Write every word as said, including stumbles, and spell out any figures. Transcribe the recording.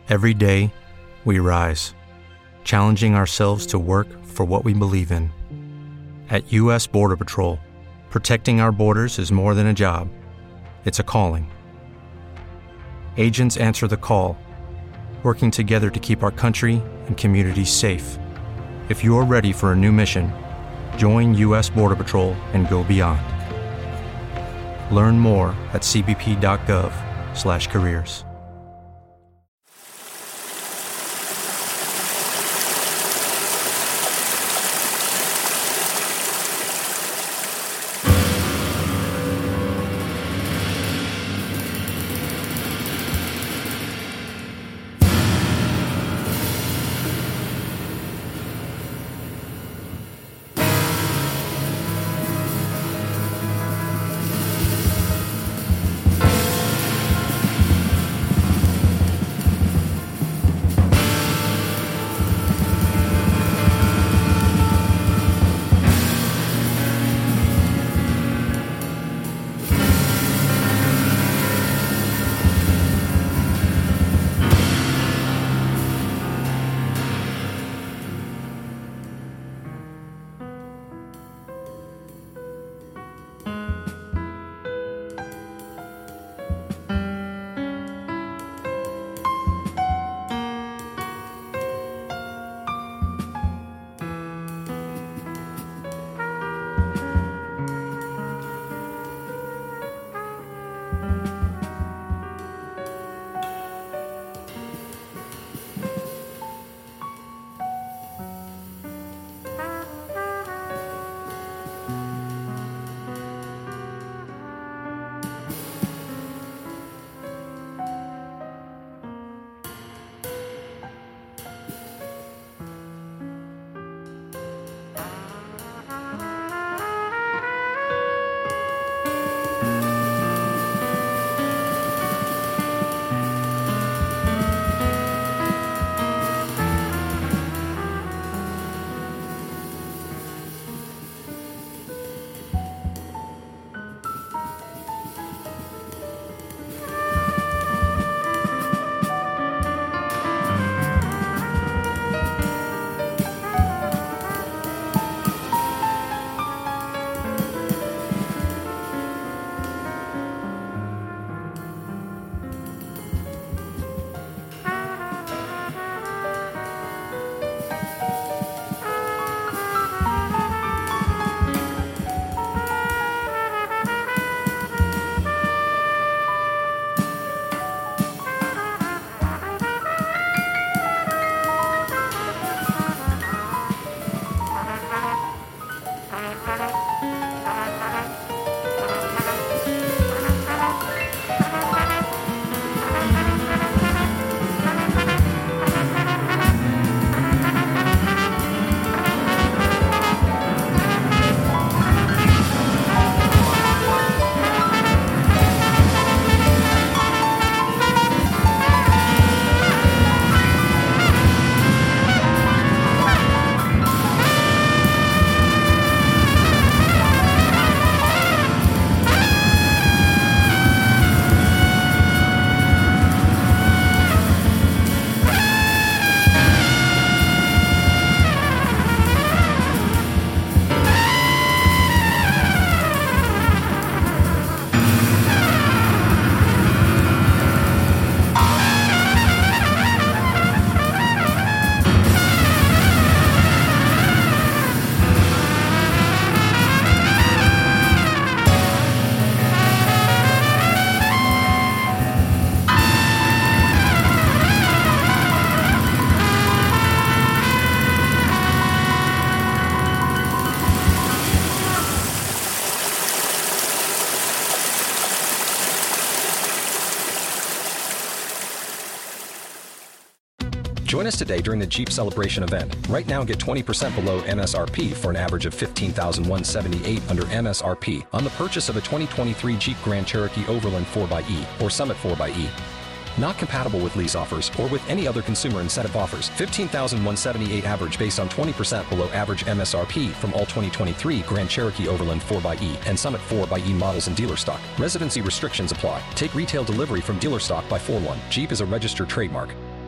Every day, we rise, challenging ourselves to work for what we believe in. At U S Border Patrol, protecting our borders is more than a job. It's a calling. Agents answer the call, working together to keep our country and communities safe. If you're ready for a new mission, join U S Border Patrol and go beyond. Learn more at c b p dot gov slash careers. Join us today during the Jeep Celebration event. Right now, get twenty percent below M S R P for an average of fifteen thousand one hundred seventy-eight dollars under M S R P on the purchase of a twenty twenty-three Jeep Grand Cherokee Overland four by E or Summit four by E. Not compatible with lease offers or with any other consumer incentive offers. fifteen thousand one hundred seventy-eight dollars average based on twenty percent below average M S R P from all twenty twenty-three Grand Cherokee Overland four by E and Summit four by E models in dealer stock. Residency restrictions apply. Take retail delivery from dealer stock by four one. Jeep is a registered trademark.